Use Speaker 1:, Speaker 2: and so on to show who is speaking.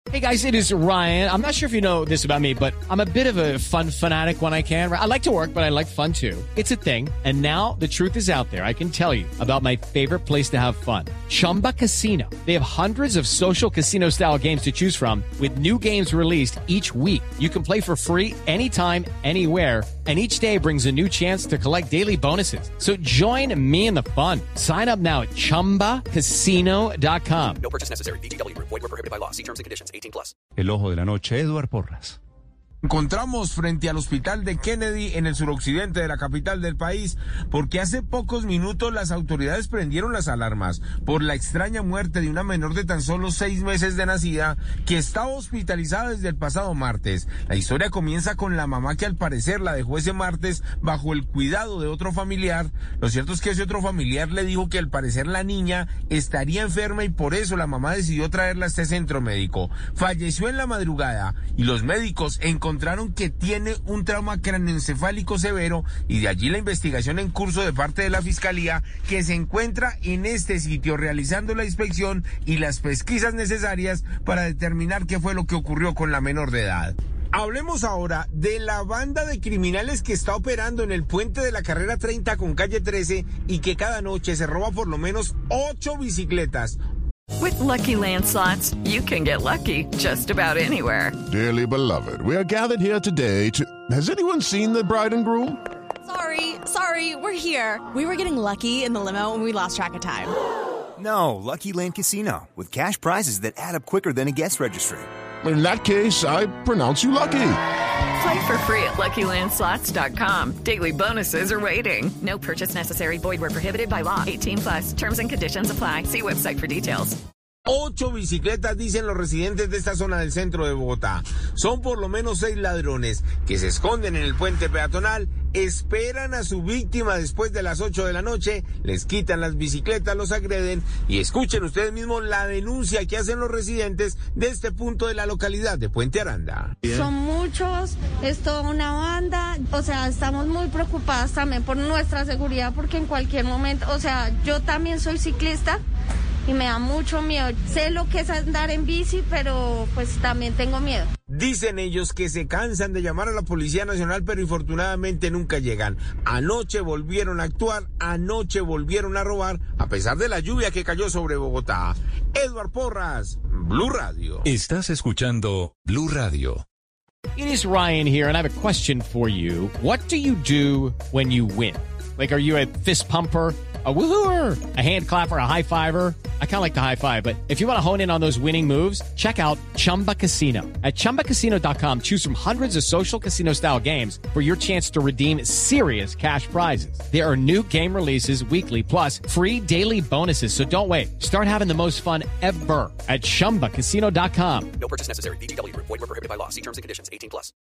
Speaker 1: Hey guys, it is Ryan. I'm not sure if you know this about me, but I'm a bit of a fun fanatic when I can. I like to work, but I like fun too. It's a thing. And now the truth is out there. I can tell you about my favorite place to have fun. Chumba Casino. They have hundreds of social casino style games to choose from with new games released each week. You can play for free anytime, anywhere. And each day brings a new chance to collect daily bonuses. So join me in the fun. Sign up now at ChumbaCasino.com.
Speaker 2: No purchase necessary. VGW Group. Void where prohibited by law. See terms and conditions. 18+.
Speaker 3: El ojo de la noche, Eduard Porras.
Speaker 4: Encontramos frente al hospital de Kennedy en el suroccidente de la capital del país porque hace pocos minutos las autoridades prendieron las alarmas por la extraña muerte de una menor de tan solo 6 meses de nacida que estaba hospitalizada desde el pasado martes. La historia comienza con la mamá que al parecer la dejó ese martes bajo el cuidado de otro familiar. Lo cierto es que ese otro familiar le dijo que al parecer la niña estaría enferma y por eso la mamá decidió traerla a este centro médico. Falleció en la madrugada y los médicos encontraron que tiene un trauma craneoencefálico severo y de allí la investigación en curso de parte de la Fiscalía que se encuentra en este sitio realizando la inspección y las pesquisas necesarias para determinar qué fue lo que ocurrió con la menor de edad. Hablemos ahora de la banda de criminales que está operando en el puente de la carrera 30 con calle 13 y que cada noche se roba por lo menos 8 bicicletas.
Speaker 5: With Lucky Land Slots, you can get lucky just about anywhere.
Speaker 6: Dearly beloved, we are gathered here today to... Has anyone seen the bride and groom?
Speaker 7: Sorry, we're here. We were getting lucky in the limo and we lost track of time.
Speaker 8: No, Lucky Land Casino, with cash prizes that add up quicker than a guest registry.
Speaker 6: In that case, I pronounce you lucky.
Speaker 5: Play for free at LuckyLandSlots.com. Daily bonuses are waiting. No purchase necessary. Void where prohibited by law. 18+. Terms and conditions apply. See website for details.
Speaker 4: 8 bicicletas, dicen los residentes de esta zona del centro de Bogotá. Son por lo menos 6 ladrones que se esconden en el puente peatonal, esperan a su víctima después de las 8 de la noche, les quitan las bicicletas, los agreden y escuchen ustedes mismos la denuncia que hacen los residentes de este punto de la localidad de Puente Aranda.
Speaker 9: Son muchos, es toda una banda, o sea, estamos muy preocupadas también por nuestra seguridad porque en cualquier momento, o sea, yo también soy ciclista y me da mucho miedo. Sé lo que es andar en bici, pero pues también tengo miedo.
Speaker 4: Dicen ellos que se cansan de llamar a la Policía Nacional, pero infortunadamente nunca llegan. Anoche volvieron a actuar, anoche volvieron a robar, a pesar de la lluvia que cayó sobre Bogotá. Eduard Porras, Blue Radio.
Speaker 3: Estás escuchando Blue Radio.
Speaker 1: It is Ryan here, and I have a question for you. What do you do when you win? Like, are you a fist pumper, a woohooer, a hand clapper, a high fiver? I kind of like the high five, but if you want to hone in on those winning moves, check out Chumba Casino. At ChumbaCasino.com, choose from hundreds of social casino style games for your chance to redeem serious cash prizes. There are new game releases weekly, plus free daily bonuses. So don't wait. Start having the most fun ever at ChumbaCasino.com.
Speaker 2: No purchase necessary. VGW Group. Void where prohibited by law. See terms and conditions. 18+.